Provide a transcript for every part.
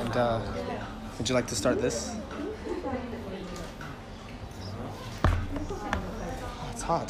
And would you like to start this? Oh, it's hot.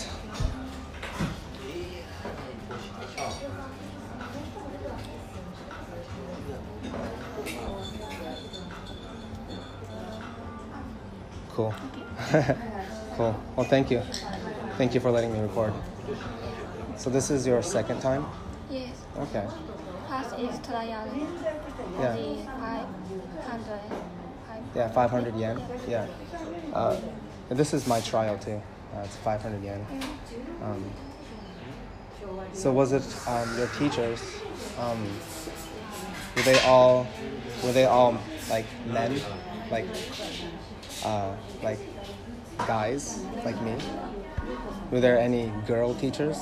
Cool. Cool. Well, thank you. Thank you for letting me record. So this is your second time? Yes. Okay. First is trial. Yeah. The 500. Yeah, 500 yen. Yeah. And this is my trial too. It's 500 yen. So was it your teachers? Were they all like men, like guys like me? Were there any girl teachers?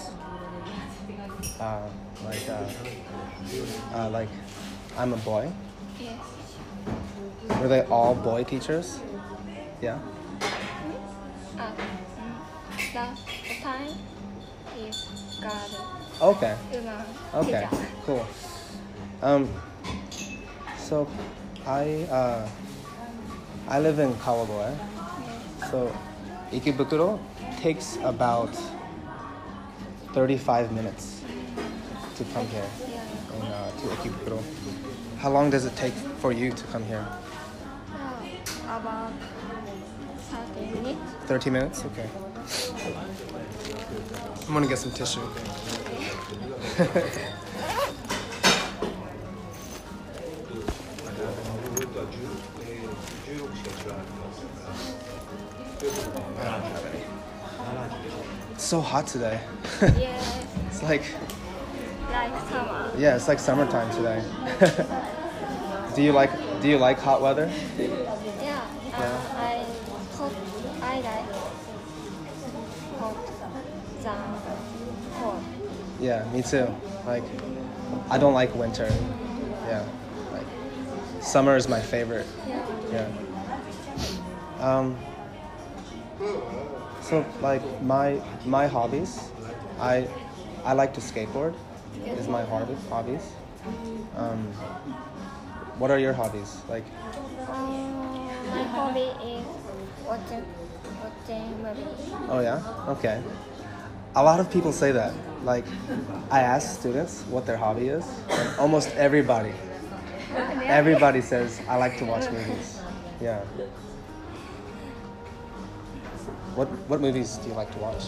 Like I'm a boy. Yes. Were they all boy teachers? Yeah. The time is girl. Okay. Woman. Okay. Teacher. Cool. So I live in Kawagoe. Yes. So Ikebukuro takes about 35 minutes to come here Yeah. to Ikebukuro. How long does it take for you to come here? About 30 minutes. 30 minutes? Okay. I'm gonna get some tissue. It's so hot today. Yes. It's like Summer. yeah, it's like summertime today. Do you like hot weather? Yeah. I like hot than cold. Yeah, me too. Like I don't like winter. Yeah. Like summer is my favorite. Yeah. Yeah. So like my hobbies, I like to skateboard. Is my hobbies. What are your hobbies? Like My hobby is watching movies. oh yeah? Okay. A lot of people say that. Like I ask students what their hobby is, and almost everybody says I like to watch movies. Yeah. What movies do you like to watch?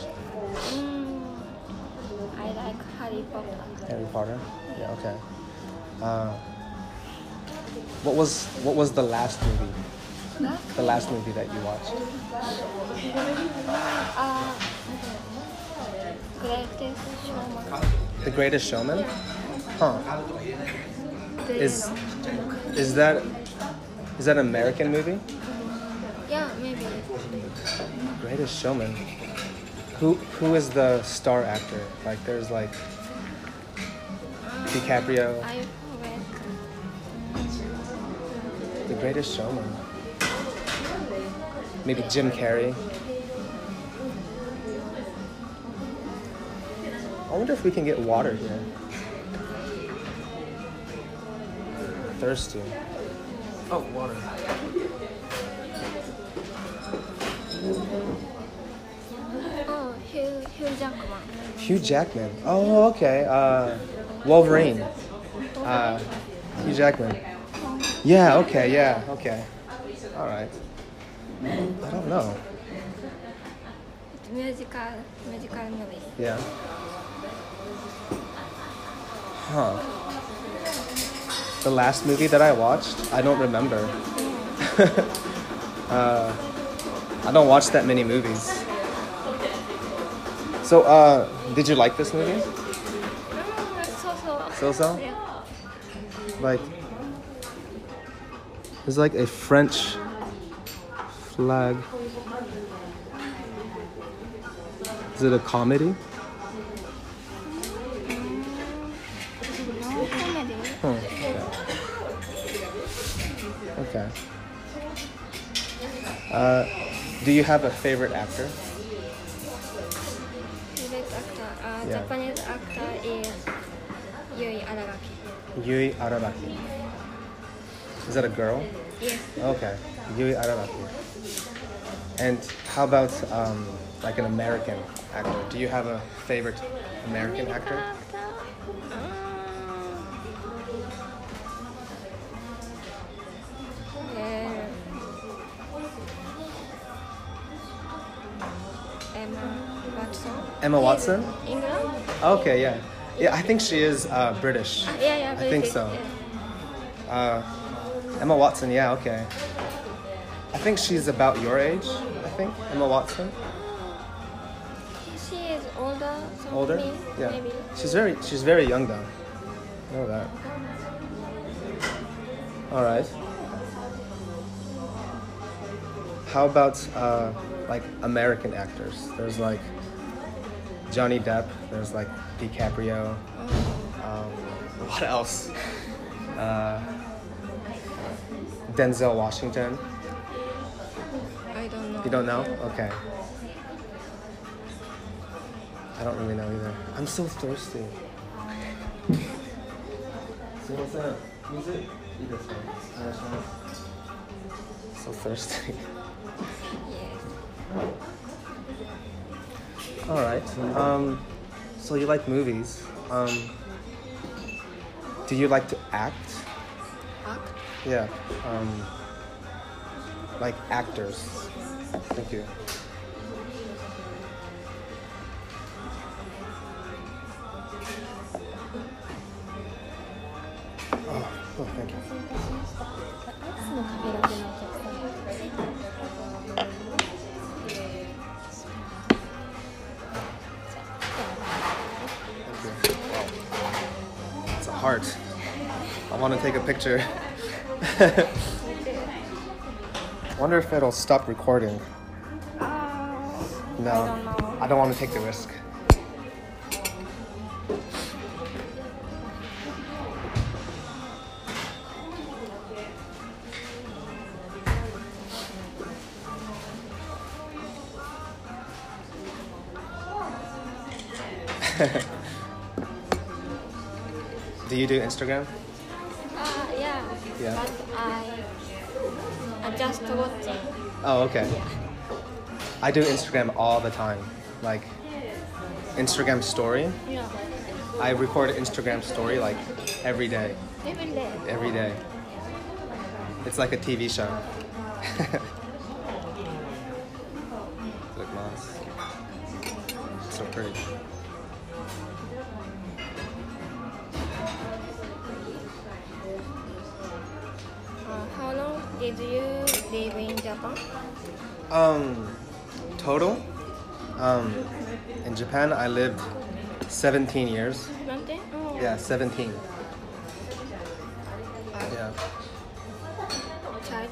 I like Harry Potter. Harry Potter? Yeah, okay. What was the last movie? The last movie that you watched? Greatest Showman. The Greatest Showman? Huh. Is that an American movie? Yeah, maybe. Greatest Showman. Who is the star actor? Like there's like DiCaprio. I forget. The Greatest Showman. Maybe Jim Carrey. I wonder if we can get water here. Thirsty. Oh, water. Oh, Hugh Jackman. Hugh Jackman. Oh, okay. Wolverine. Hugh Jackman. Yeah, okay, yeah, okay. All right. I don't know. It's musical movie. Yeah. Huh. The last movie that I watched, I don't remember. I don't watch that many movies. So, did you like this movie? So? Yeah. Like, there's like a French flag. Is it a comedy? No comedy. Okay. Do you have a favorite actor? Favorite actor. Yeah. Japanese actor is Yui Araraki. Yui Araraki. Is that a girl? Yes. Okay. Yui Araraki. And how about like an American actor? Do you have a favorite American actor? Emma Watson. Emma Watson? England? Okay, yeah. Yeah, I think she is British. Yeah, I think British, so. yeah. Emma Watson, yeah, okay. I think she's about your age, I think. Emma Watson? She is older than Older? me, Yeah. maybe. She's very young though. I know that. Alright. How about like American actors? There's like Johnny Depp, there's like DiCaprio. What else? Denzel Washington. I don't know. You don't know? Okay. I don't really know either. I'm so thirsty. So thirsty. Yes. All right. So you like movies. Do you like to act? Act? Yeah. Like actors. Thank you. Oh, thank you. アイスの食べログのお客様。 Thank you. Wow. It's a heart. I want to take a picture. Wonder if it'll stop recording. No, I don't know. I don't want to take the risk. Do you do Instagram? Yeah. Yeah. But I just watching. Oh, okay. I do Instagram all the time. Like Instagram story. Yeah. I record Instagram story like every day. Every day. Every day. It's like a TV show. Look, Mars. So pretty. How long did you live in Japan? Total? In Japan, I lived 17 years. なんて? Oh. Yeah, 17. Yeah. Child.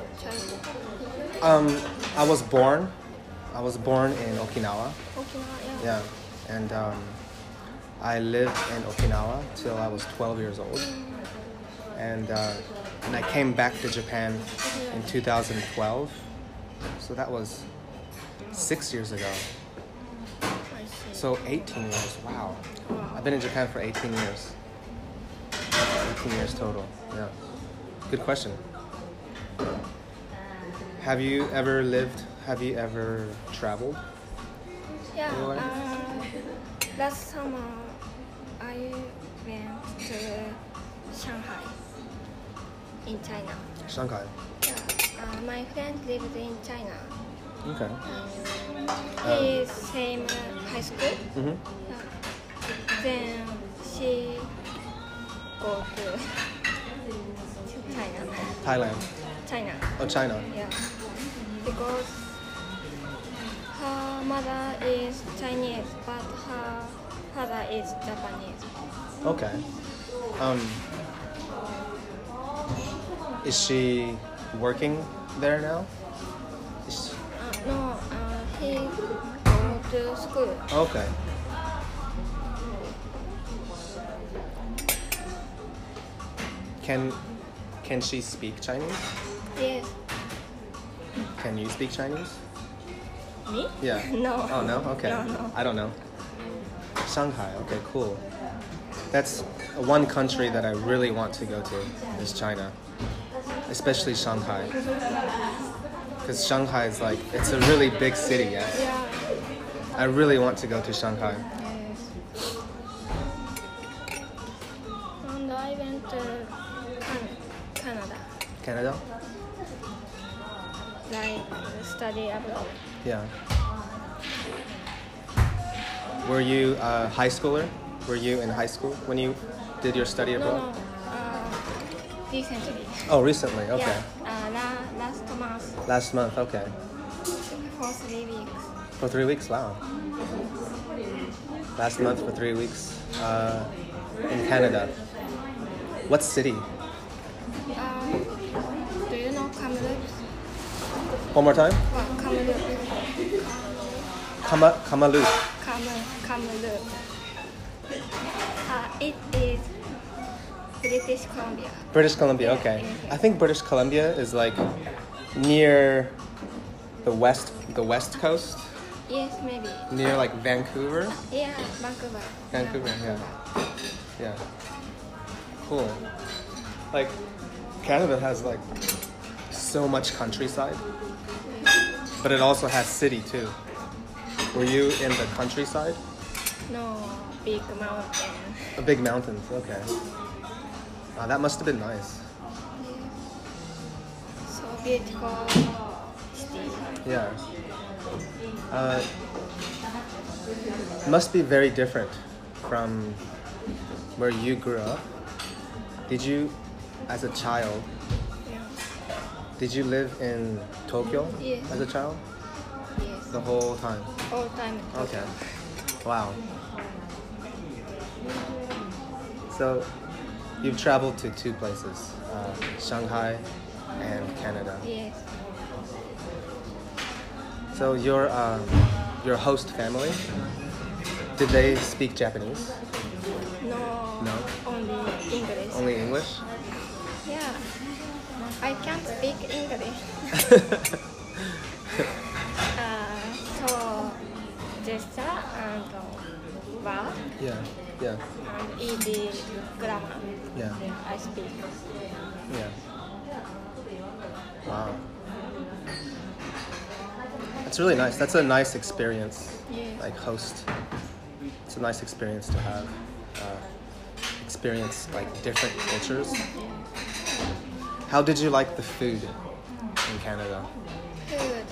I was born in Okinawa. Okinawa, yeah. Yeah. And I lived in Okinawa till I was 12 years old. And I came back to Japan in 2012. So that was 6 years ago. I see. So 18 years. Wow. I've been in Japan for 18 years. 18 years total. Yeah. Good question. Have you ever traveled? Yeah. Anyway. Last summer I went to Shanghai in China. Shanghai. Yeah. My friend lived in China. Okay. He is same high school. Mm-hmm. Yeah. Then she go to China. Thailand. China. Oh, China. Yeah. Because her mother is Chinese, but her father is Japanese. Okay. Is she working there now? No, he go to school. Okay. Can she speak Chinese? Yes. Can you speak Chinese? Me? Yeah. No. Oh no? Okay. No. I don't know. Shanghai. Okay, cool. That's one country that I really want to go to is China. especially Shanghai. Because Shanghai is like, it's a really big city, yeah. Yeah. I really want to go to Shanghai. Yes. And I went to Canada, Canada? like study abroad. Yeah. Were you a high schooler? Were you in high school when you did your study abroad? No, recently. Oh, recently, okay. Yeah, last month Last month, okay. for 3 weeks. For 3 weeks, wow. Last month for 3 weeks in Canada. What city? Do you know Kamloops? One more time? Well, Kamloops. Kamloops. Kamloops. It is British Columbia. British Columbia, okay. I think British Columbia is like near the west coast, Yes, maybe. near like Vancouver. Yeah, Vancouver. Vancouver, yeah. Yeah. Cool. Like Canada has like so much countryside, but it also has city too. Were you in the countryside? No, big mountain. A big mountains, okay. That must have been nice. So beautiful city. Yeah. Must be very different from where you grew up. Did you, as a child, Yeah. did you live in Tokyo Yes. as a child? Yes. The whole time? All time. Okay. Wow. So, you've traveled to 2 places, Shanghai and Canada. Yes. So your host family, did they speak Japanese? No. No? Only English. Only English? Yeah. I can't speak English. So gesture and verb Yeah, yeah, and easy grammar. yeah, I speak. yeah. Wow. That's really nice. That's a nice experience. Yes. Like host. It's a nice experience to have. Experience like different cultures. How did you like the food in Canada? Food.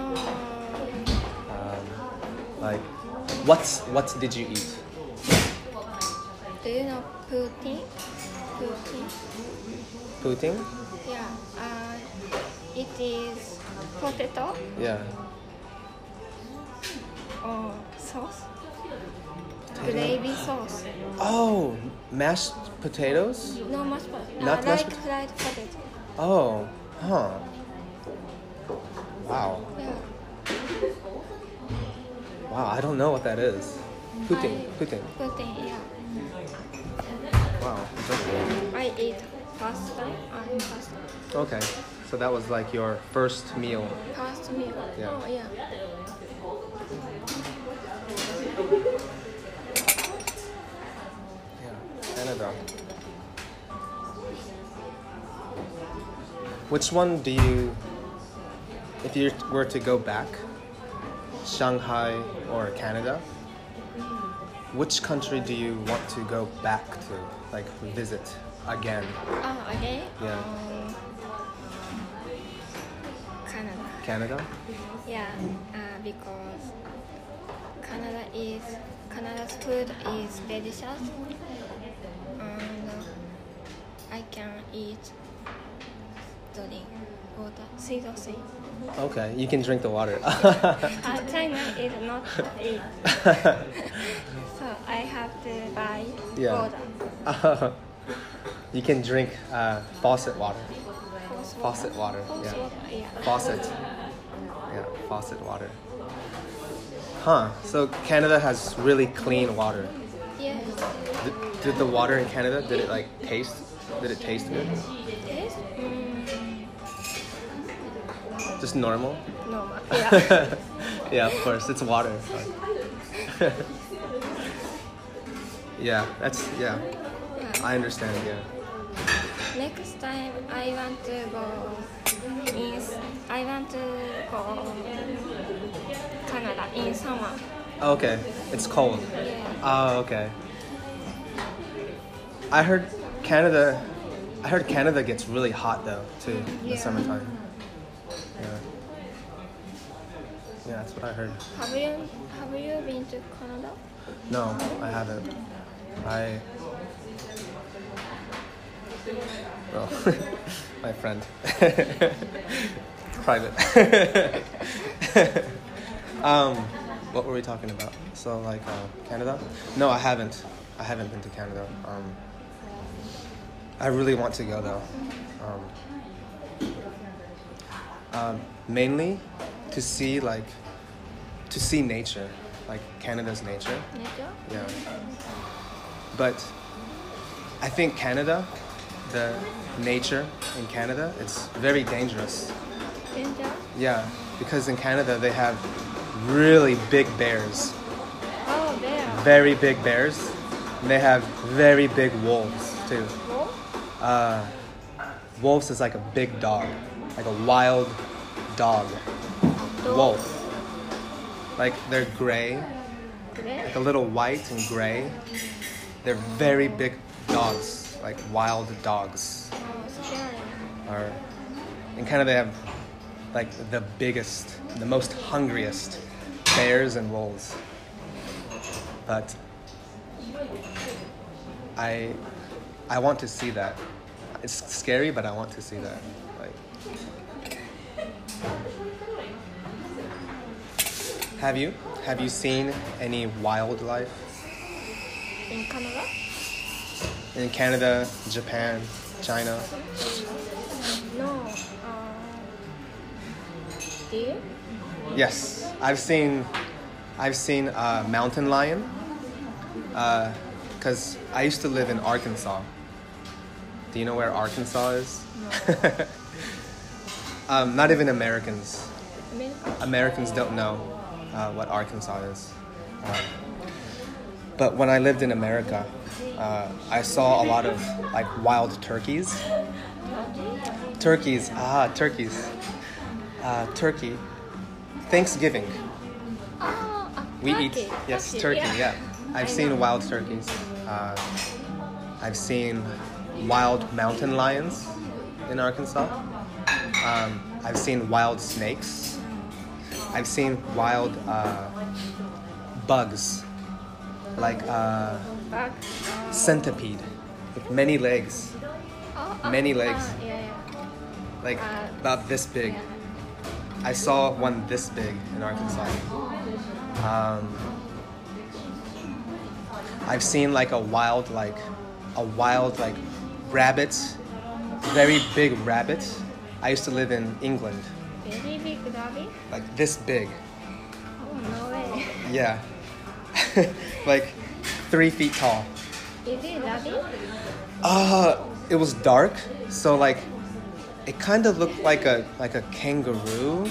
Like, what did you eat? Do you know poutine? Poutine. Poutine? Yeah. It is potato Yeah. or sauce. Gravy sauce. Oh, mashed potatoes? No mashed potato. Not mashed like fried potato. Oh, huh. Wow. Yeah. Wow, I don't know what that is. Poutine. Poutine. Poutine. Yeah. Wow. I ate pasta and pasta. Okay. So that was like your first meal. Pasta meal. Yeah. Oh yeah. Yeah. Canada. Which one do you, if you were to go back, Shanghai or Canada, which country do you want to go back to, like visit again? Again? Yeah. Canada. Canada? Yeah, because Canada's food is delicious, and I can eat, drink water, sweet. Okay, you can drink the water. China is not eat, so I have to buy Yeah. water. You can drink faucet water. Faucet water, yeah. Yeah. Faucet. Yeah, faucet water. Huh, so Canada has really clean water. Yes. Did the water in Canada, did it taste good? Yes. Just normal? Normal. Yeah. Yeah, of course, it's water. Yeah, I understand, yeah. Next time I want to go Canada in summer. Okay, it's cold. Yeah. Oh, okay. I heard Canada gets really hot though too in the Yeah. summertime. Yeah. Yeah, that's what I heard. Have you been to Canada? No, I haven't. Well, my friend. Private. What were we talking about? So like Canada? No, I haven't. I haven't been to Canada. I really want to go though. Mainly to see nature, like Canada's nature. Nature? Yeah. But I think Canada, the nature in Canada, it's very dangerous. Danger? Yeah, because in Canada they have really big bears, Oh, there. very big bears, and they have very big wolves too. Wolf? Wolves is like a big dog, like a wild dog. Wolf. Like they're gray, Gray? like a little white and gray. They're very big dogs, like wild dogs. Oh, scary. Or in Canada they have like the biggest, the most hungriest bears and wolves. But I want to see that. It's scary, but I want to see that. Like, have you seen any wildlife In Canada? in Canada, Japan, China? No. Deer? Yes, I've seen a mountain lion. Because I used to live in Arkansas. Do you know where Arkansas is? No. Not even Americans. America? Americans don't know what Arkansas is. But when I lived in America, I saw a lot of like wild turkeys. Turkey. Thanksgiving. We turkey. eat, yes, turkey, yeah. I've seen wild turkeys. I've seen wild mountain lions in Arkansas. I've seen wild snakes. I've seen wild bugs, like Bug. centipede, with many legs, many legs, Yeah. like about this big. I saw one this big in Arkansas. I've seen like a wild rabbit, very big rabbit. I used to live in England, Very big rabbit? like this big. Oh, no way. Yeah, like 3 feet tall. Is it rabbit? It was dark, so like it kind of looked like a kangaroo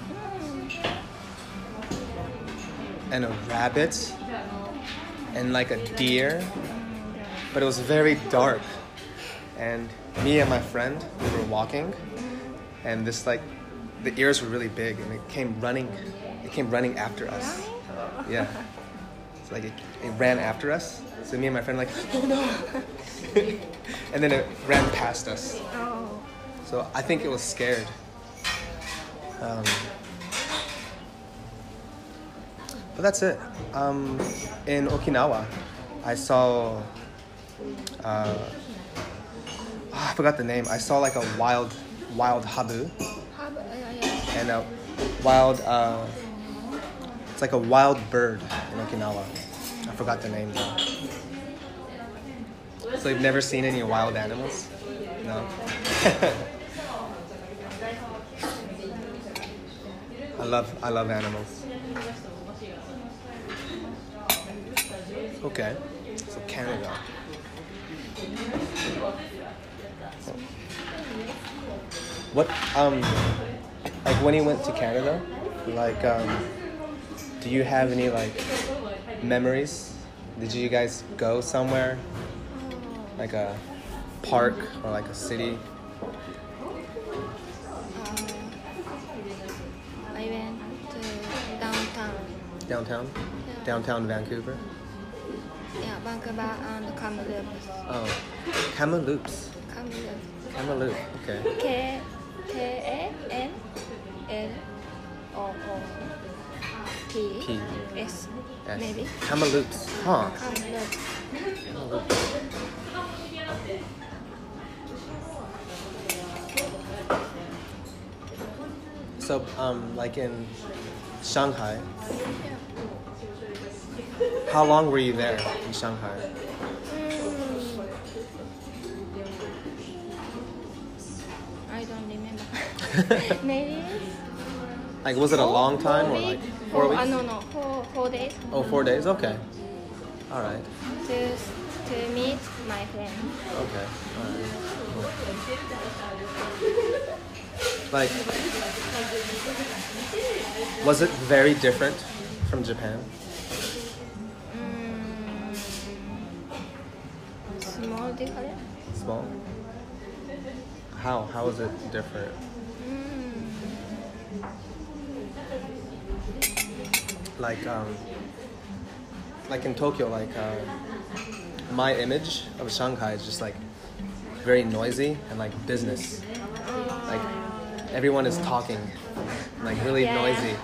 and a rabbit and like a deer, but it was very dark. And me and my friend, we were walking, and this like the ears were really big, and it came running after us. Yeah, it's like it ran after us. So me and my friend like, oh no, and then it ran past us. Oh. So I think it was scared. But that's it. In Okinawa, I saw. I forgot the name. I saw like a wild habu Yeah. and a wild. It's like a wild bird in Okinawa. I forgot the name though. So you've never seen any wild animals? No. I love animals. Okay, so Canada. What like when you went to Canada, like do you have any like memories? Did you guys go somewhere? Like a park or like a city? I went to downtown. Downtown? Yeah. Downtown Vancouver? Yeah, Vancouver and Kamloops. Oh, Kamloops. Kamloops. Kamloops, okay. Kamloops. P. S. S. Maybe. Kamloops, huh? Kamloops. Kamloops. So, like in Shanghai, how long were you there in Shanghai? I don't remember. Maybe Like, was it a long time or like 4 weeks? No, 4 days. Oh, 4 days? Okay. All right. To meet my friend. Okay. All right. Like, was it very different from Japan? Small difference. Small? How was it different? Like in Tokyo, my image of Shanghai is just like very noisy and like business. Like everyone is talking, like really Yeah. noisy.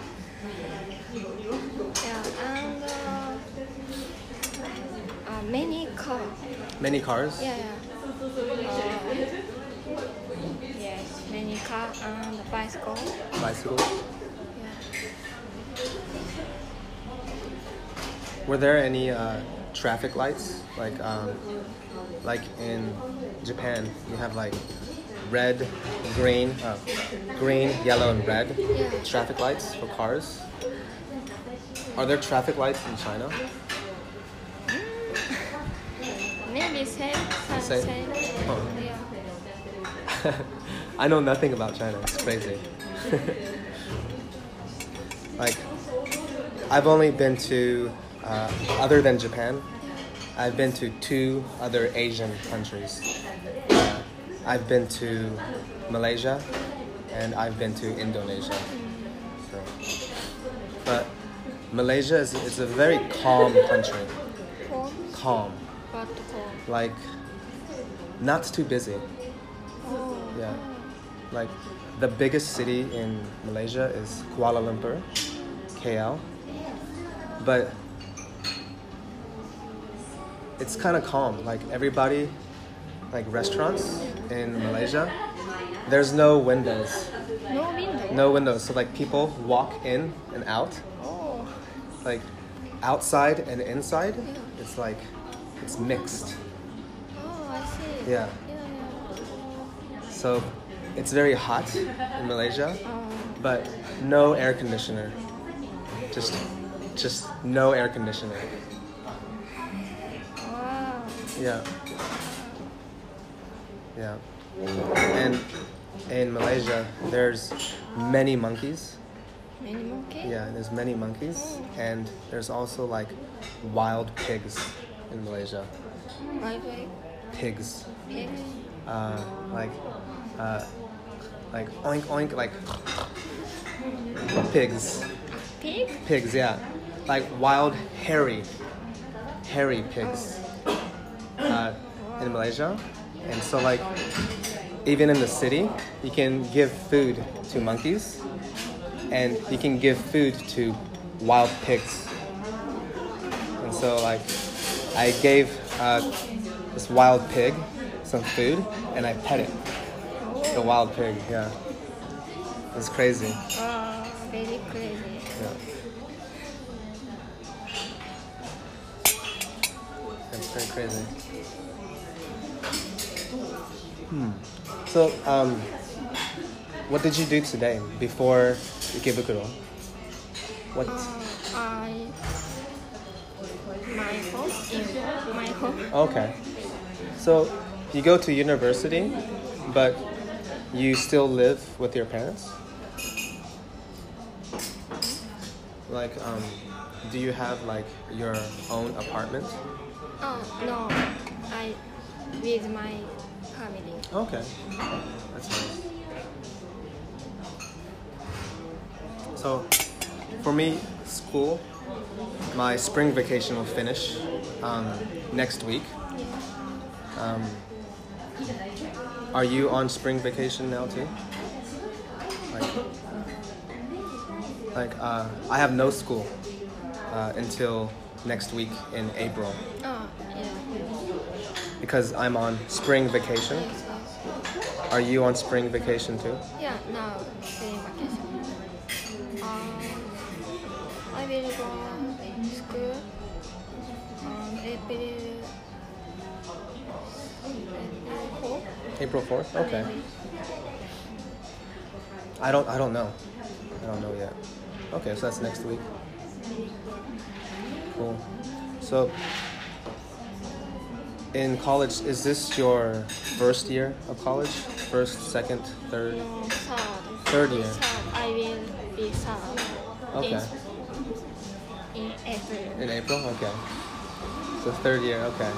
Yeah, and many cars. Many cars. Yeah. Yes, many car and bicycle. Bicycles. Yeah. Were there any traffic lights? Like in Japan, you have like red, green, yellow, and red Yeah. traffic lights for cars. Are there traffic lights in China? Maybe same. Same? Oh. Yeah. I know nothing about China. It's crazy. Like, I've only been to, other than Japan, I've been to 2 other Asian countries. I've been to Malaysia and I've been to Indonesia. So, but Malaysia is a very calm country. Calm. But cold. Like, not too busy. Oh. Yeah. Like, the biggest city in Malaysia is Kuala Lumpur, KL. But it's kind of calm. Like, everybody, like restaurants in Malaysia, there's no windows. No window. No windows. So, like, people walk in and out. Oh. Like, outside and inside, Yeah. it's like, it's mixed. Oh, I see. Yeah. So it's very hot in Malaysia, but no air conditioner. Just no air conditioner. Wow. Yeah. Yeah. And in Malaysia, there's many monkeys. Many monkey? Yeah, there's many monkeys, and there's also like wild pigs in Malaysia. Like Pigs. pigs. Like oink oink, like pigs. Pig? Pigs, yeah, like wild hairy pigs in Malaysia, and so like even in the city, you can give food to monkeys, and you can give food to wild pigs. And so like I gave this wild pig some food, and I pet it. The wild pig, yeah. It's crazy. Oh, very crazy. Yeah. It's very crazy. So, what did you do today before Ikebukuro? What? My home. Okay. So, you go to university, but you still live with your parents? Like, do you have like your own apartment? Oh no, I with my family. Okay, that's nice. So, for me, school, my spring vacation will finish next week. Yeah. Are you on spring vacation now too? I have no school until next week in April Oh, yeah. because I'm on spring vacation. Yes, yes. Are you on spring vacation too? Yeah, now spring vacation. I will go school on April 4th. April 4th? Okay. I don't know. I don't know yet. Okay, so that's next week. Cool. So in college, is this your first year of college? First, second, third? No, third. Third year. Third. I will be third. Okay. In April. In April? Okay. So third year, okay.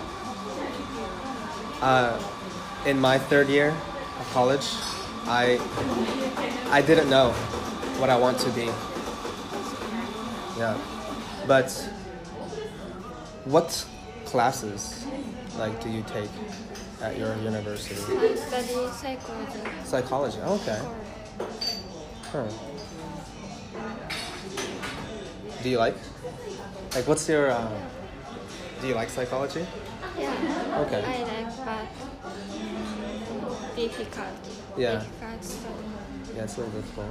In my third year of college, I didn't know what I want to be. Yeah. But what classes do you take at your university? I study psychology. Psychology. Oh, okay. Huh. Do you like what's your do you like psychology? Yeah. Okay. I like, but difficult. Yeah. Difficult study. Yeah, it's a little difficult.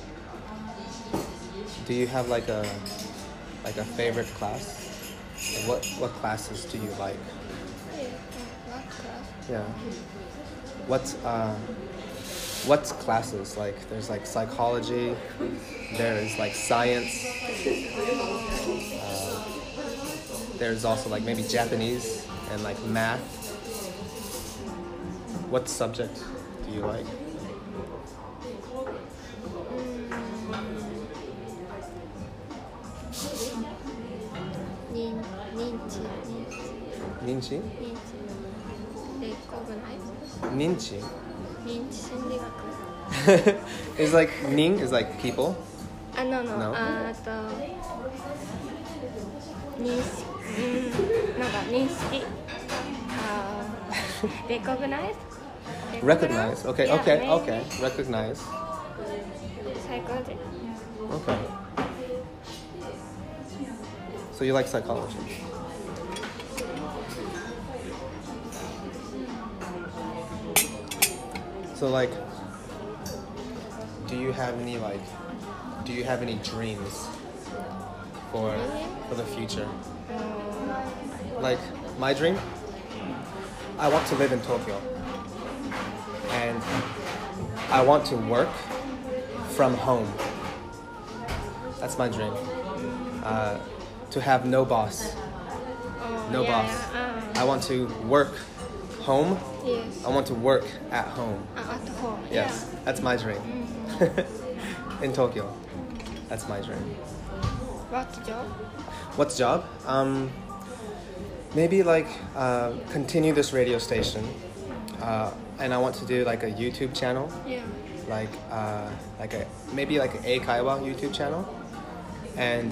Do you have like a favorite class? What classes do you like? Yeah. What class? Yeah. What classes? There's psychology, there is science, there's also maybe Japanese and math. What subject do you like? Ninchi. Ninchi? Recognize. Ninchi. Ninchi 心理学. Is nin is people? No. No? 認識、なんか認識。Recognize. Recognize. Okay, Yeah, okay, maybe. okay. Recognize. Psychology. Okay. So you like psychology? So do you have any dreams for the future? My dream, I want to live in Tokyo, and I want to work from home. That's my dream. To have no boss. No boss. I want to work home. Yes. I want to work at home. At home. Yes, that's my dream. In Tokyo. That's my dream. Yeah. What job? What job? Maybe continue this radio station. And I want to do a YouTube channel. Yeah. Maybe an Eikaiwa YouTube channel. And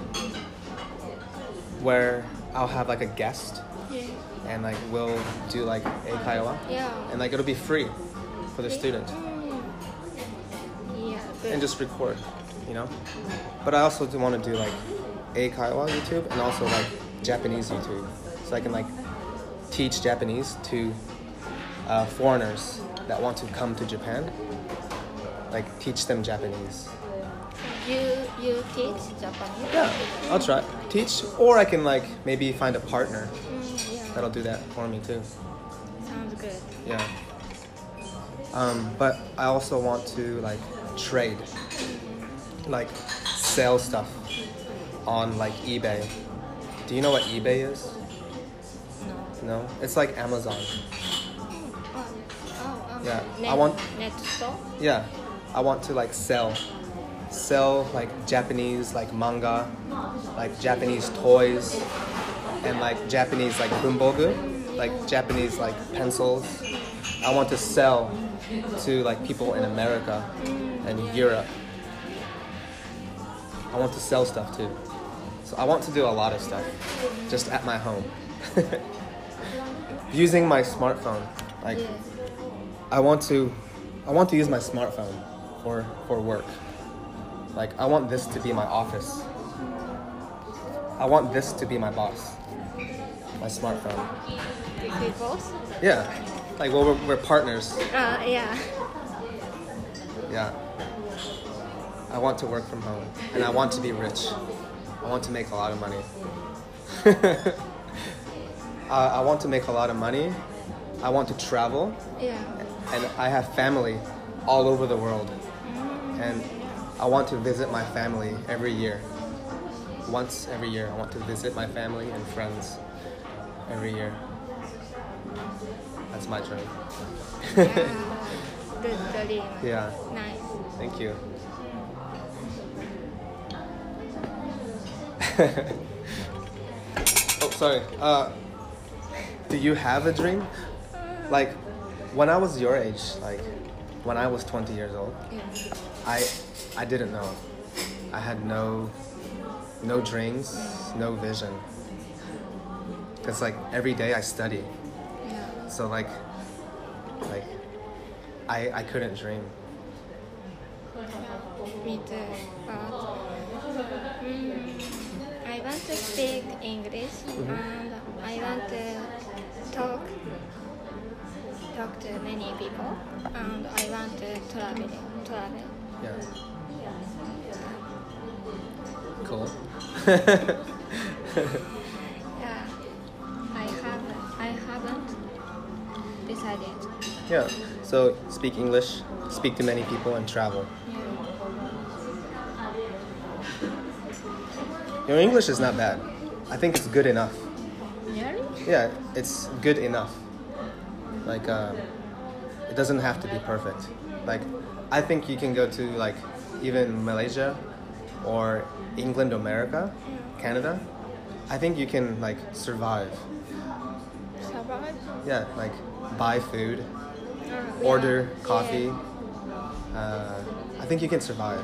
where I'll have a guest. Yeah. And we'll do Eikaiwa. Yeah. And it'll be free for the student. Yeah. Good. And just record, But I also do want to do Eikaiwa YouTube and also Japanese YouTube, so I can teach Japanese to foreigners that want to come to Japan. Teach them Japanese. You teach Japanese? Yeah, I'll try teach, or I can maybe find a partner Yeah. that'll do that for me too. Sounds good. Yeah. But I also want to trade, sell stuff on eBay. Do you know what eBay is? No. No? It's like Amazon. Yeah, Net, I want- net store. Yeah. I want to sell Japanese manga, Japanese toys, and Japanese bunbogu. like Japanese like pencils. I want to sell to like people in America and Europe. I want to sell stuff too. So I want to do a lot of stuff just at my home. Using my smartphone. Like Yes. I want to use my smartphone for work. Like I want this to be my office. I want this to be my boss. My smartphone. We both? Yeah. Like well we're partners. Yeah. Yeah. I want to work from home and I want to be rich. I want to make a lot of money. I want to make a lot of money. I want to travel. Yeah. And I have family all over the world. And I want to visit my family every year. Once every year, I want to visit my family and friends every year. That's my dream. Yeah. Good dream. Yeah, Nice. thank you. Oh, sorry. Do you have a dream? Like, when I was your age, like, when I was 20 years old, Yeah. I didn't know. I had no dreams, no vision. Cause like every day I study, Yeah. so like I couldn't dream. Me too. But I want to speak English and I want to talk to many people and I want to travel. Yeah. Cool. Yeah. I haven't decided. Yeah. So speak English, speak to many people, and travel. Your English is not bad. I think it's good enough. Really? Yeah, it's good enough. Like, it doesn't have to be perfect. Like, I think you can go to like even Malaysia or England, America, Canada. I think you can like survive. Survive? Yeah, like buy food, Yeah. order Yeah. coffee. I think you can survive.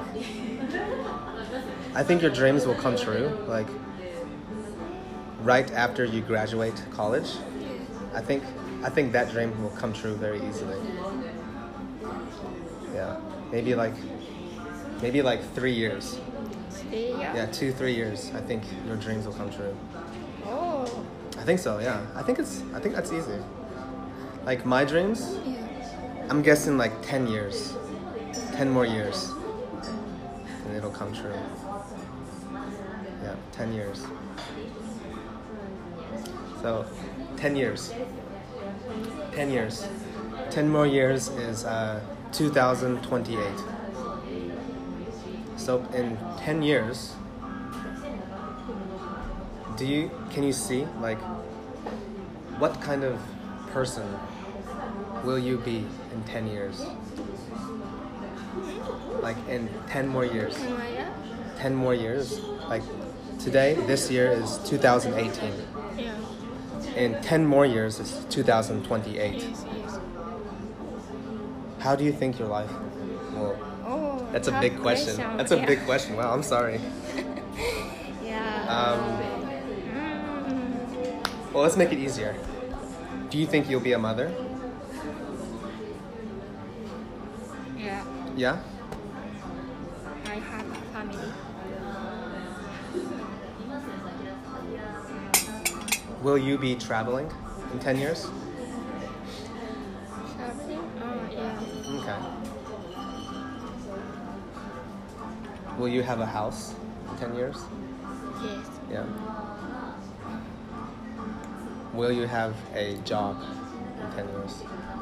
I think your dreams will come true. Like right after you graduate college, I think that dream will come true very easily. Yeah, maybe like 3 years. Yeah. Yeah, 2-3 years. I think your dreams will come true. Oh. I think so. Yeah, I think that's easy. Like my dreams, Yeah. I'm guessing like 10 years, 10 more years, and it'll come true. Yeah, 10 years. So, 10 years. 10 years. 10 more years is 2028. So in 10 years, can you see like what kind of person will you be in 10 years? Like in 10 more years. 10 more years. Like today, this year is 2018. Yeah. In 10 more years is 2028. Yes. How do you think your life will? Oh. That's a tough big question. That's a Yeah. big question. Wow, I'm sorry. Yeah. Well, let's make it easier. Do you think you'll be a mother? Yeah. Yeah? I have a family. Will you be traveling in 10 years? Traveling? Oh, yeah. Okay. Will you have a house in 10 years? Yes. Yeah. Will you have a job in 10 years?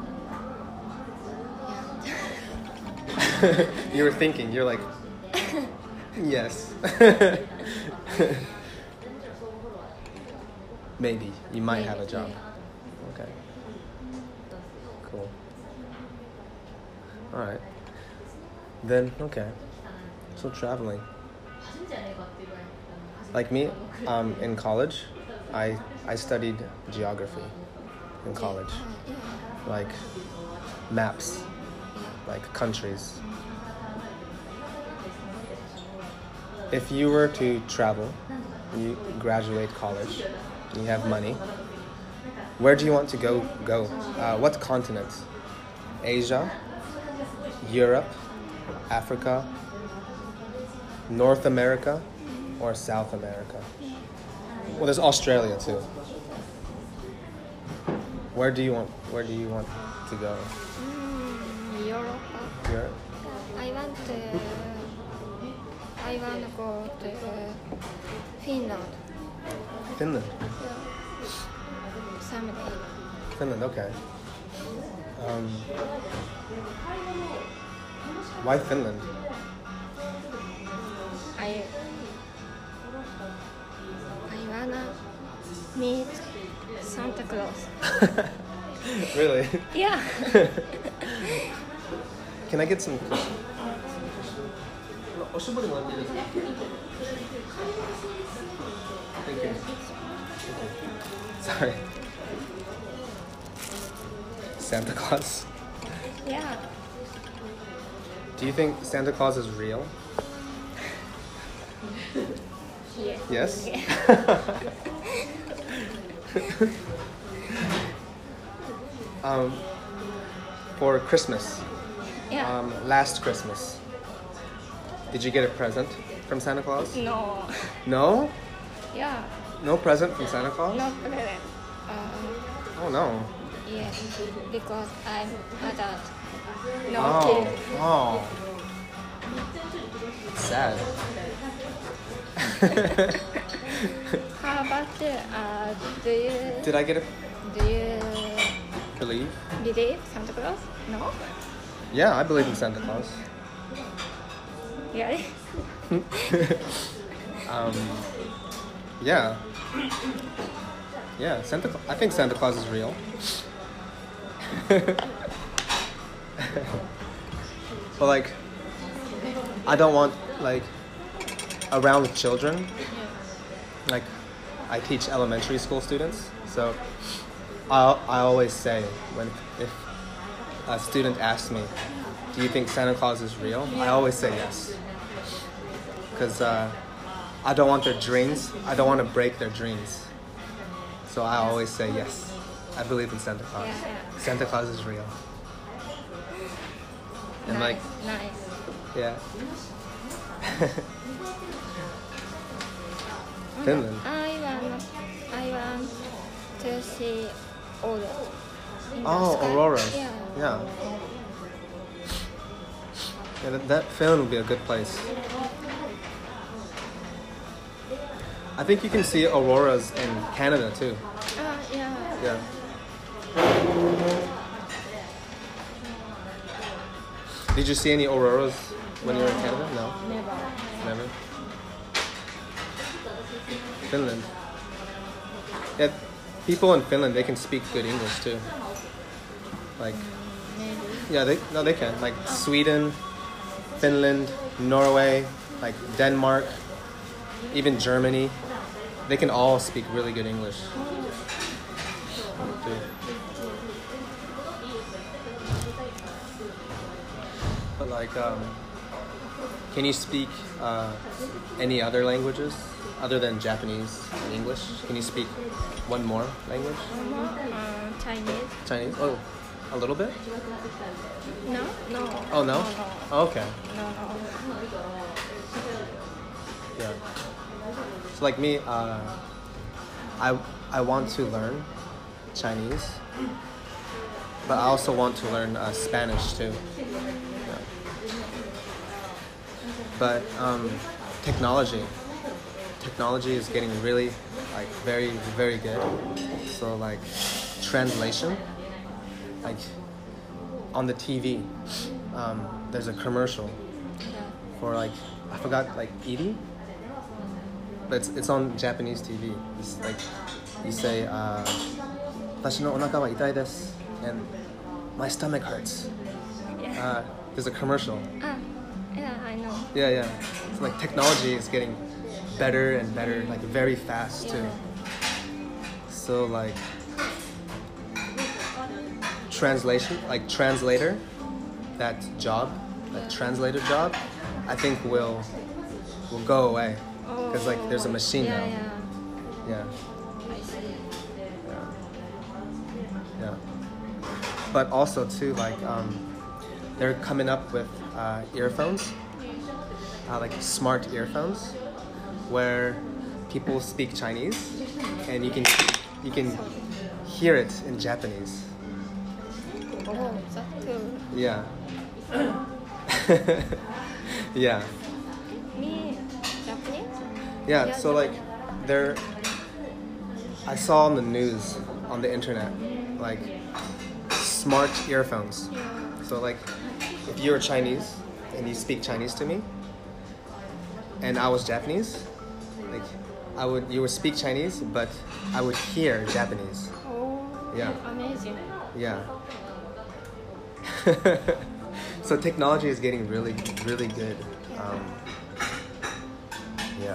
Yeah. You were thinking, you're like, yes. Maybe. You might have a job. Okay. Cool. Alright. Then, okay. So traveling. Like me, in college, I studied geography. in college? Yeah. Like maps, Yeah. like countries. If you were to travel, you graduate college, you have money, where do you want to go? What continent? Asia, Europe, Africa, North America, or South America? Well, there's Australia too. Where do you want to go? Europe. Europe? I want to go to Finland. Finland. Yeah. Someday. Finland, okay. Why Finland? I wanna meet Santa Claus. Really? Yeah. Can I get some? Thank you. Sorry. Santa Claus. Yeah. Do you think Santa Claus is real? Yes. Yes? Yeah. For Christmas, Yeah. last Christmas, did you get a present from Santa Claus? No. No? Yeah. No present from Santa Claus? No present. Oh no. Yes. Because I'm adult. No Oh. kid. Oh. It's sad. How about do Did I get a you believe? believe Santa Claus? No. Yeah, I believe in Santa Claus. Really? Yeah. Yeah, I think Santa Claus is real. But like, I don't want like around children. Like, I teach elementary school students, so I always say if a student asks me, "Do you think Santa Claus is real?" I always say yes, because I don't want their dreams. I don't want to break their dreams. So I always say yes. I believe in Santa Claus. Yeah. Santa Claus is real. And like, nice. yeah. Finland. I want to see aurora. in the Oh, sky. auroras. Yeah. Yeah. Yeah, that Finland would be a good place. I think you can see auroras in Canada too. Yeah. Yeah. Did you see any auroras when you were in Canada? No, Never. never. Finland. Yeah, people in Finland, they can speak good English too. Like, Maybe. yeah, they can. Like Sweden, Finland, Norway, like Denmark, even Germany. They can all speak really good English. Too. But like, can you speak any other languages other than Japanese and English? Can you speak one more language? Chinese. Chinese? Oh, a little bit? No. Oh, no? Oh, okay. No. Yeah. So like me, I want to learn Chinese, but I also want to learn Spanish too. Yeah. But technology is getting really like very, very good. So like translation, like on the TV, there's a commercial for like, I forgot, like Edie, but it's on Japanese TV. It's like you say, 私のお腹は痛いです and my stomach hurts. Yeah. There's a commercial. Yeah, I know. Yeah. So like technology is getting better and better, like very fast too. So like, translation, like translator, that job, that translator job, I think will go away because like there's a machine yeah, now. Yeah. Yeah. I see. Yeah. But also too, like they're coming up with earphones, like smart earphones, where people speak Chinese, and you can hear it in Japanese. Oh, that's cool. Yeah. Yeah. Me, Japanese? Yeah. So like, I saw on the news, on the internet, like smart earphones. Yeah. So like, if you're Chinese and you speak Chinese to me, and I was Japanese, like you would speak Chinese, but I would hear Japanese. Oh, Yeah. amazing. Yeah. So technology is getting really, really good. Yeah.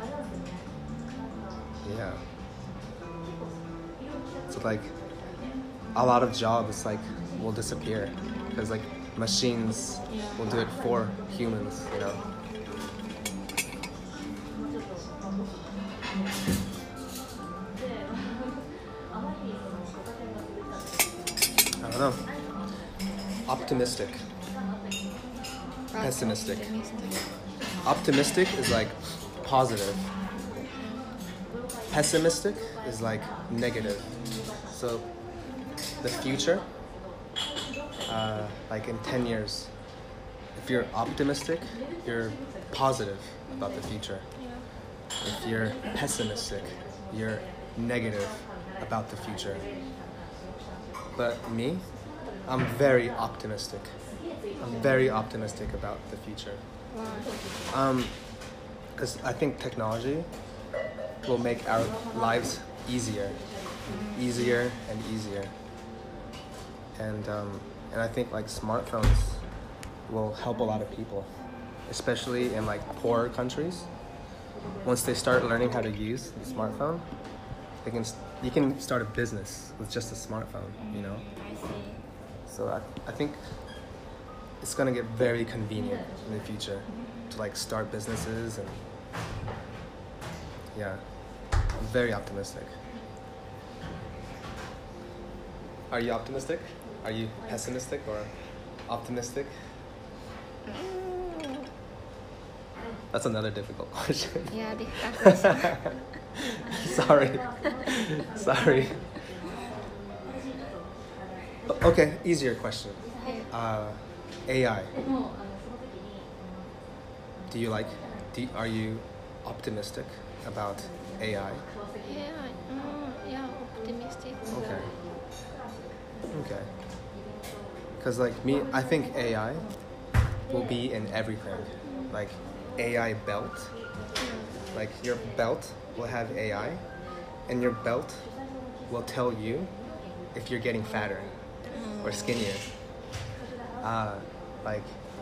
Yeah. So like, a lot of jobs like will disappear because like machines will do it for humans, you know. I don't know. Optimistic. Pessimistic. Optimistic is like positive. Pessimistic is like negative. So the future, like in 10 years, if you're optimistic, you're positive about the future. If you're pessimistic, you're negative about the future. But me, I'm very optimistic. I'm very optimistic about the future. Wow. Because I think technology will make our lives easier and easier. And I think like smartphones will help a lot of people, especially in like poorer countries. Once they start learning how to use the smartphone, you can start a business with just a smartphone, you know? I see. So I think it's gonna get very convenient in the future to like start businesses and yeah, I'm very optimistic. Are you optimistic? Are you pessimistic or optimistic? Mm, That's another difficult question. yeah, difficult question. Sorry. Okay, easier question. AI. Are you optimistic about AI? Yeah, yeah, optimistic. Okay. Because like me, I think AI will be in everything. Like AI belt. Like your belt will have AI, and your belt will tell you if you're getting fatter or skinnier. Like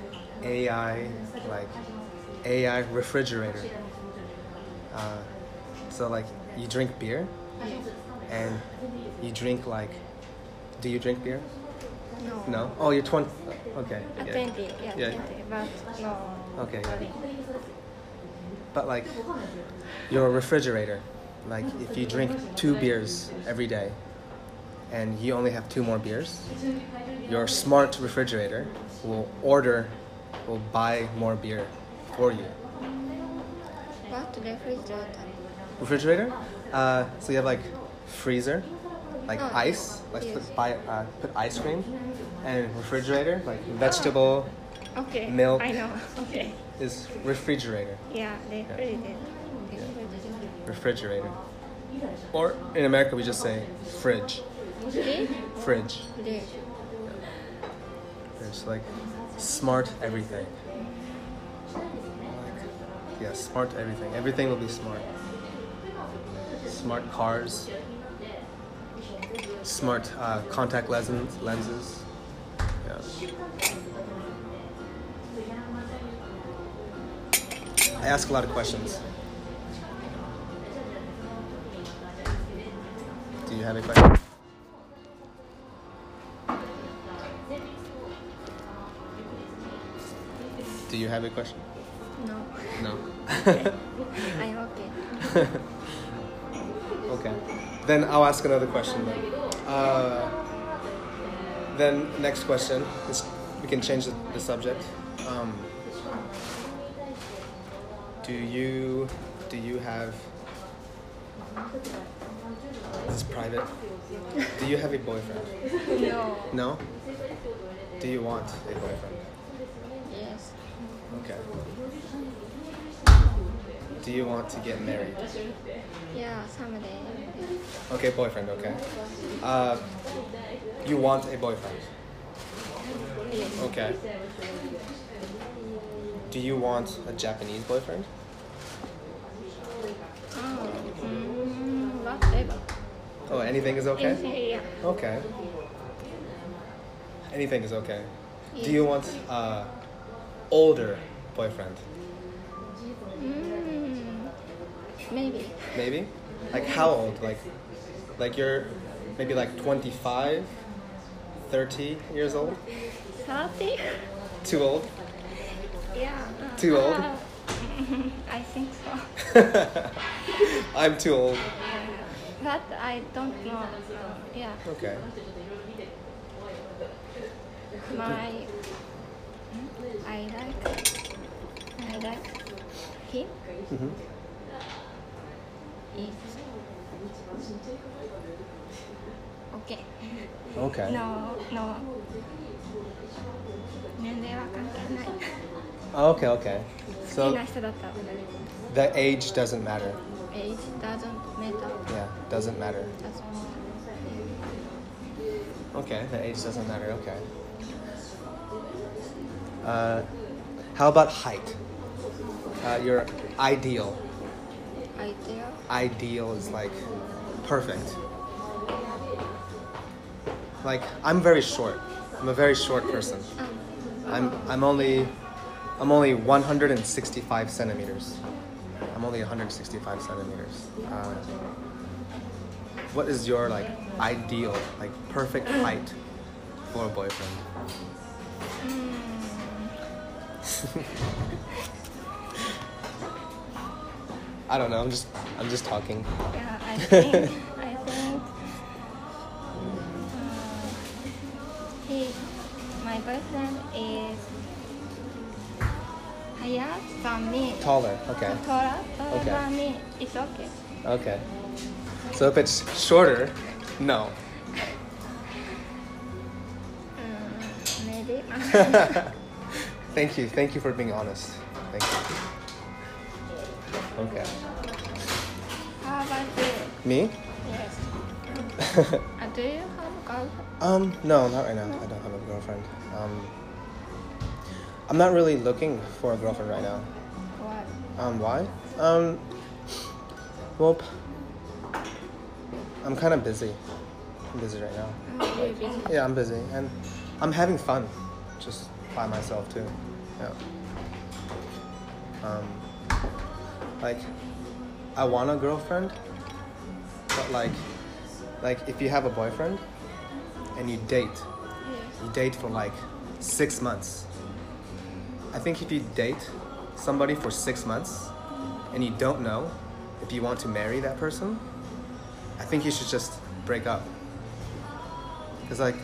AI refrigerator. So like you drink beer, and you drink like, do you drink beer? No. No? Oh, you're 20. Okay. 20, yeah, Yeah. 20, but no. Okay. Yeah. But like your refrigerator, like if you drink 2 beers every day and you only have 2 more beers, your smart refrigerator will buy more beer for you. What refrigerator? Refrigerator? So you have like freezer, like Oh, ice, like yes. put ice cream, and refrigerator, like vegetable Okay. Milk. I know. Okay. is refrigerator. Yeah, refrigerator. Refrigerator. Or in America we just say fridge. Fridge? Fridge. Fridge. It's like smart everything. Yeah, smart everything. Everything will be smart. Smart cars. Smart contact lenses. Yeah. I ask a lot of questions. Do you have a question? Do you have a question? No. No. I'm okay. Okay. Then I'll ask another question then. Then next question is we can change the subject. Do you have, this is private. Do you have a boyfriend? No. No? Do you want a boyfriend? Yes. Okay. Do you want to get married? Yeah, someday. Okay, boyfriend, okay. You want a boyfriend? Yes. Okay. Do you want a Japanese boyfriend? Whatever. Oh, anything is okay? Anything, yeah. Okay. Anything is okay. Yes. Do you want older boyfriend? Maybe. Maybe? Like how old? Like you're maybe like 25, 30 years old? 30? Too old? Yeah. Too old? I think so. I'm too old. But I don't know. Yeah. Okay. I like him. Mm-hmm. Is okay. Okay. No. 年齢は関係ない。 Okay, okay. 好き So な人だったら the age doesn't matter. age doesn't matter. Yeah, doesn't matter. Doesn't Okay, the age doesn't matter. Okay. How about height? Your ideal. idea. Ideal is like perfect. Like I'm very short. I'm a very short person. I'm only 165 centimeters. I'm only 165 centimeters. What is your like ideal, like perfect height for a boyfriend? I don't know. I'm just talking. Yeah, I think my boyfriend is higher than me. Taller. Okay. Taller Okay. than me. It's okay. Okay. So if it's shorter, no. Maybe. Thank you for being honest. Thank you. Okay. How about you? Me? Yes. Do you have a girlfriend? No, not right now. I don't have a girlfriend. I'm not really looking for a girlfriend right now. What? Why? Well, I'm kind of busy. I'm busy right now. Oh, you're busy. Yeah, I'm busy, and I'm having fun, just by myself too. Yeah. Like, I want a girlfriend, but like if you have a boyfriend and you date for like 6 months. I think if you date somebody for 6 months and you don't know if you want to marry that person, I think you should just break up. Because like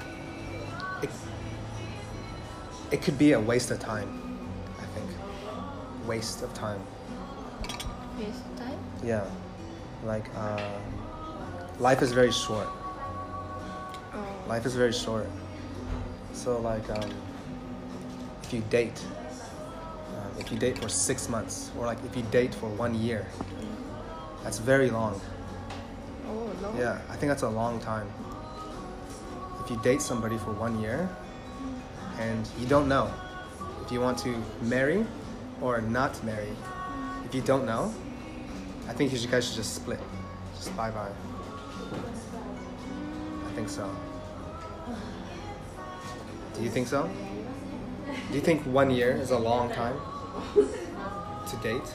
it could be a waste of time, I think. Waste of time. Waste time? Yeah. Like life is very short. Oh. Life is very short. So like if you date for 6 months, or like if you date for 1 year, that's very long. Oh, no. Yeah, I think that's a long time. If you date somebody for 1 year and you don't know if you want to marry or not marry, if you don't know, I think you guys should just split. Just bye-bye. I think so. Do you think so? Do you think 1 year is a long time to date?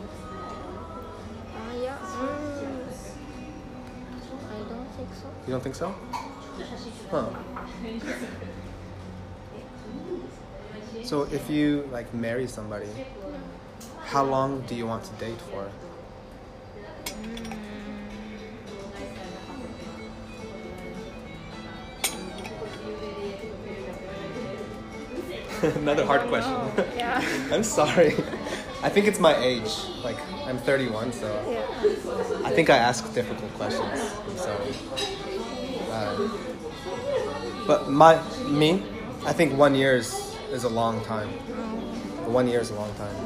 Yeah. I don't think so. You don't think so? Huh. So if you like marry somebody, how long do you want to date for? Another hard question. Yeah. I'm sorry. I think it's my age. Like, I'm 31, so Yeah. I think I ask difficult questions. So, but me, I think 1 year is a long time. 1 year is a long time.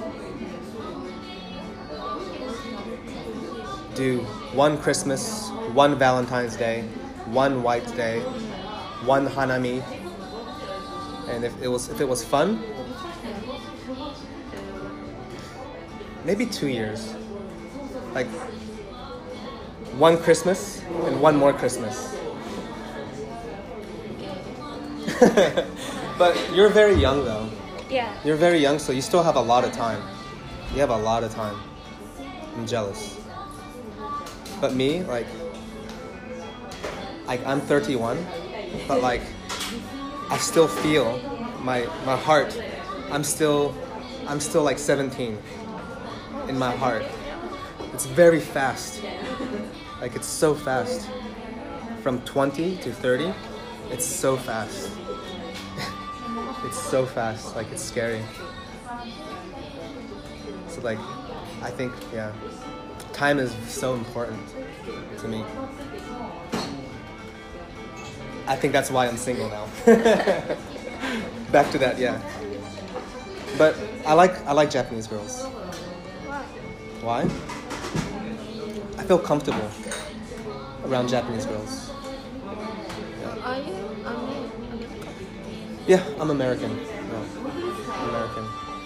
Do one Christmas, one Valentine's Day, one White Day, one Hanami, and if it was fun, maybe 2 years. Like one Christmas and one more Christmas. But you're very young though. Yeah. You're very young, so you still have a lot of time. You have a lot of time. I'm jealous. But me, like I'm 31, but like I still feel my heart. I'm still like 17 in my heart. It's very fast. Like it's so fast. From 20 to 30, it's so fast. It's so fast, like it's scary. So like, I think, yeah, time is so important to me. I think that's why I'm single now. Back to that, yeah. But I like Japanese girls. Why? Why? I feel comfortable around Japanese girls. Are you American? Yeah, I'm American. Yeah, I'm American.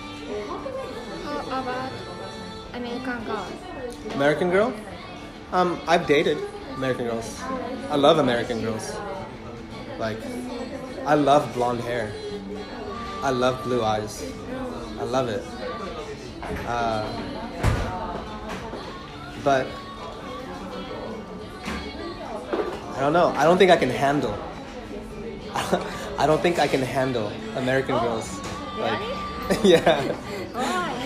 How about American girl? American girl? I've dated American girls. I love American girls. Like, I love blonde hair. I love blue eyes. I love it. But I don't know. I don't think I can handle. I don't think I can handle American girls. Like, yeah. Why?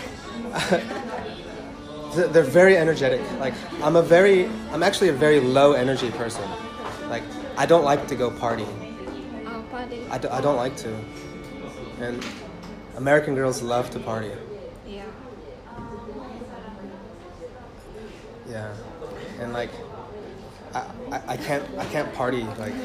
They're very energetic. Like I'm actually a very low energy person. Like I don't like to go party. Party. I don't like to. And American girls love to party. Yeah. Yeah. And like I can't party like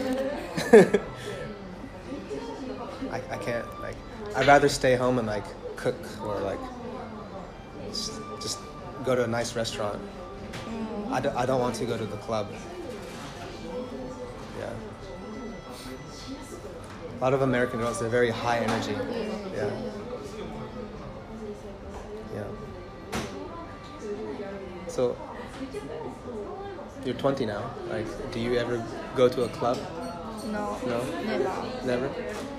I can't like I'd rather stay home and like cook or like just go to a nice restaurant. I don't want to go to the club. Yeah. A lot of American girls, they're very high energy. Yeah. Yeah. So, you're 20 now. Like, do you ever go to a club? No. No? Never. Never?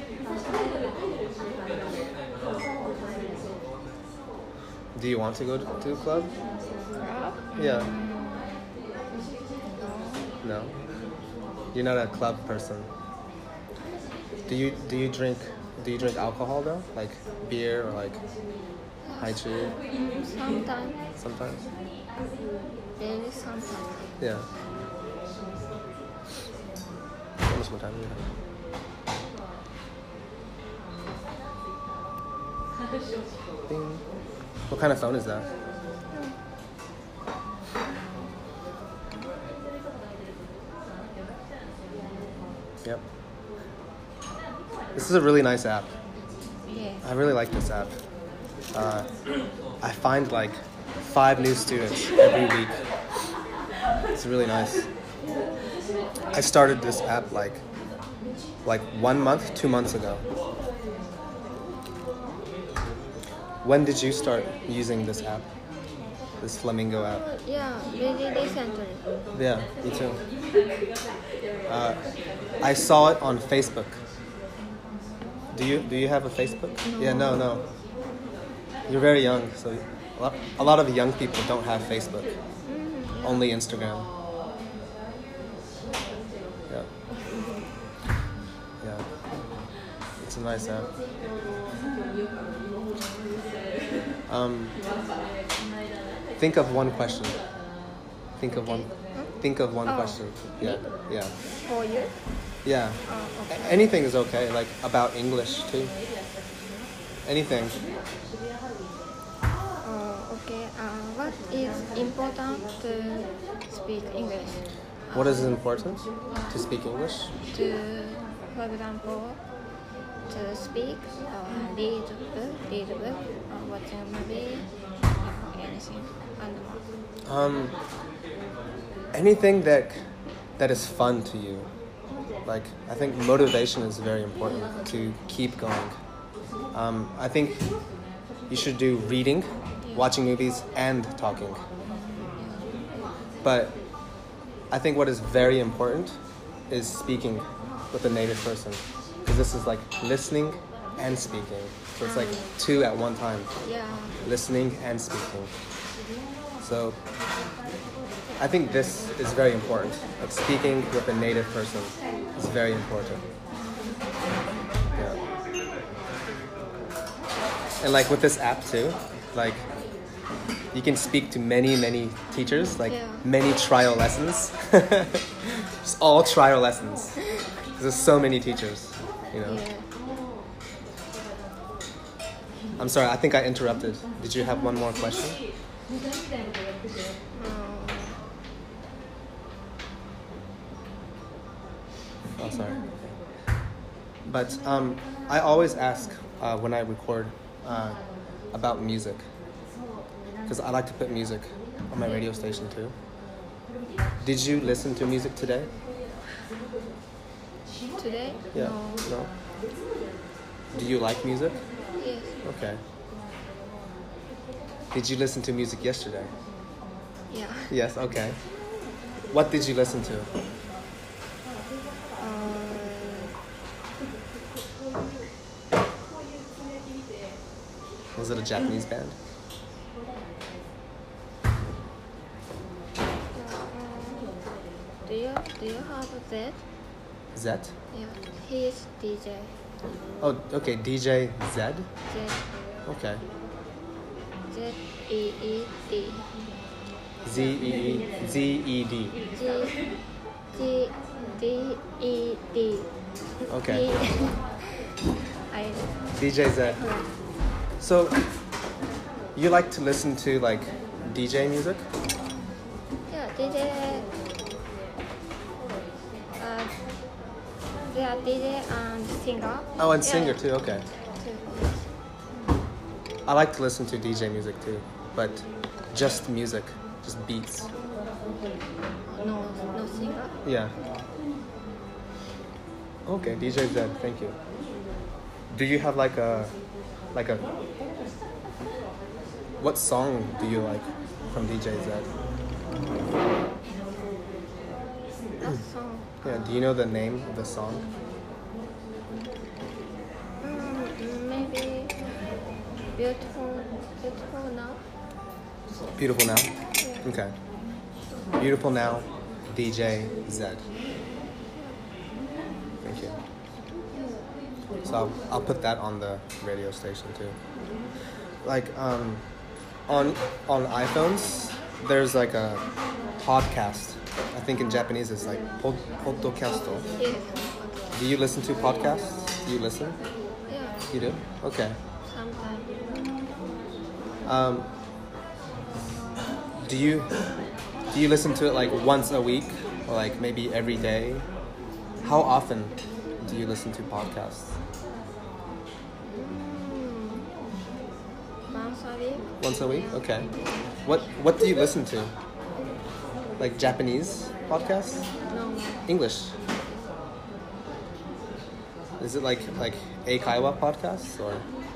Do you want to go to a club? Club? Yeah. No? You're not a club person. Do you drink alcohol though? Like beer or like haichu? Sometimes. Sometimes? Very sometimes. Yeah. How much more time do you have? Ding. What kind of phone is that? Yep. This is a really nice app. Yeah. I really like this app. I find like 5 new students every week. It's really nice. I started this app like 1 month, 2 months ago. When did you start using this app? This Flamingo app? Yeah, very recently. Yeah, me too. I saw it on Facebook. Do you have a Facebook? No. Yeah, no. You're very young, so a lot of young people don't have Facebook. Only Instagram. Yeah. Yeah. It's a nice app. Think of one question. Think of one Oh. question. Yeah. Yeah. For you? Yeah. Okay. Anything is okay. Like about English too. Anything. Okay. What is important to speak English? What is important to speak English? For example, to speak or read book, or watch a movie, or anything, and more. Anything that is fun to you. Like I think motivation is very important to keep going. I think you should do reading, watching movies, and talking. But I think what is very important is speaking with a native person, because this is like listening and speaking. So it's like two at one time, Yeah. listening and speaking. So I think this is very important. Like speaking with a native person is very important. Yeah. And like with this app too, like you can speak to many teachers, like Yeah. many trial lessons. Just all trial lessons. There's so many teachers, you know. Yeah. I'm sorry, I think I interrupted. Did you have one more question? Oh, sorry. But I always ask when I record about music, because I like to put music on my radio station too. Did you listen to music today? Today? Yeah. No. No? Do you like music? Yes. Okay. Did you listen to music yesterday? Yeah. Yes, okay. What did you listen to? Was it a Japanese band? Do you have that? Zet? Yeah. He's DJ. Oh, okay, DJ Zed? Z Okay. Z-E-E-D. Z-E-D. G-D-E-D. Okay. I DJ Zed. So, you like to listen to like DJ music? yeah, DJ. They are DJ and singer. Oh, and Yeah, singer too, okay. too. I like to listen to DJ music too, but just music, just beats. No singer. Yeah. Okay, DJ Zed, thank you. Do you have like a what song do you like from DJ Zed? That song. Yeah, do you know the name of the song? Maybe beautiful now. Beautiful Now? Yeah. Okay. Beautiful Now, DJ Zed. Thank you. So I'll put that on the radio station too. Like on iPhones, there's like a podcast. I think in Japanese it's like podcasto. Yeah. Do you listen to podcasts? Do you listen? Yeah. You do? Okay. Sometimes. Do you listen to it like once a week or like maybe every day? How often do you listen to podcasts? Once a week. Once a week? Okay. What do you listen to? Like Japanese podcasts? No. English? Is it like Eikaiwa podcasts or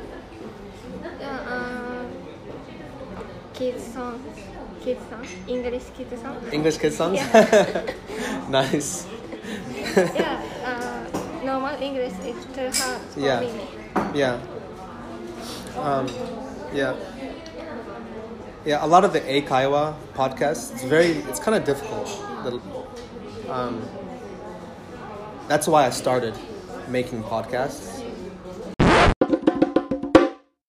Yeah. Kids song. English kids song. English kids songs? Nice. Yeah. Normal English is too hard for Yeah. me. Yeah. Yeah. Yeah, a lot of the Eikaiwa podcasts, it's kind of difficult. That's why I started making podcasts,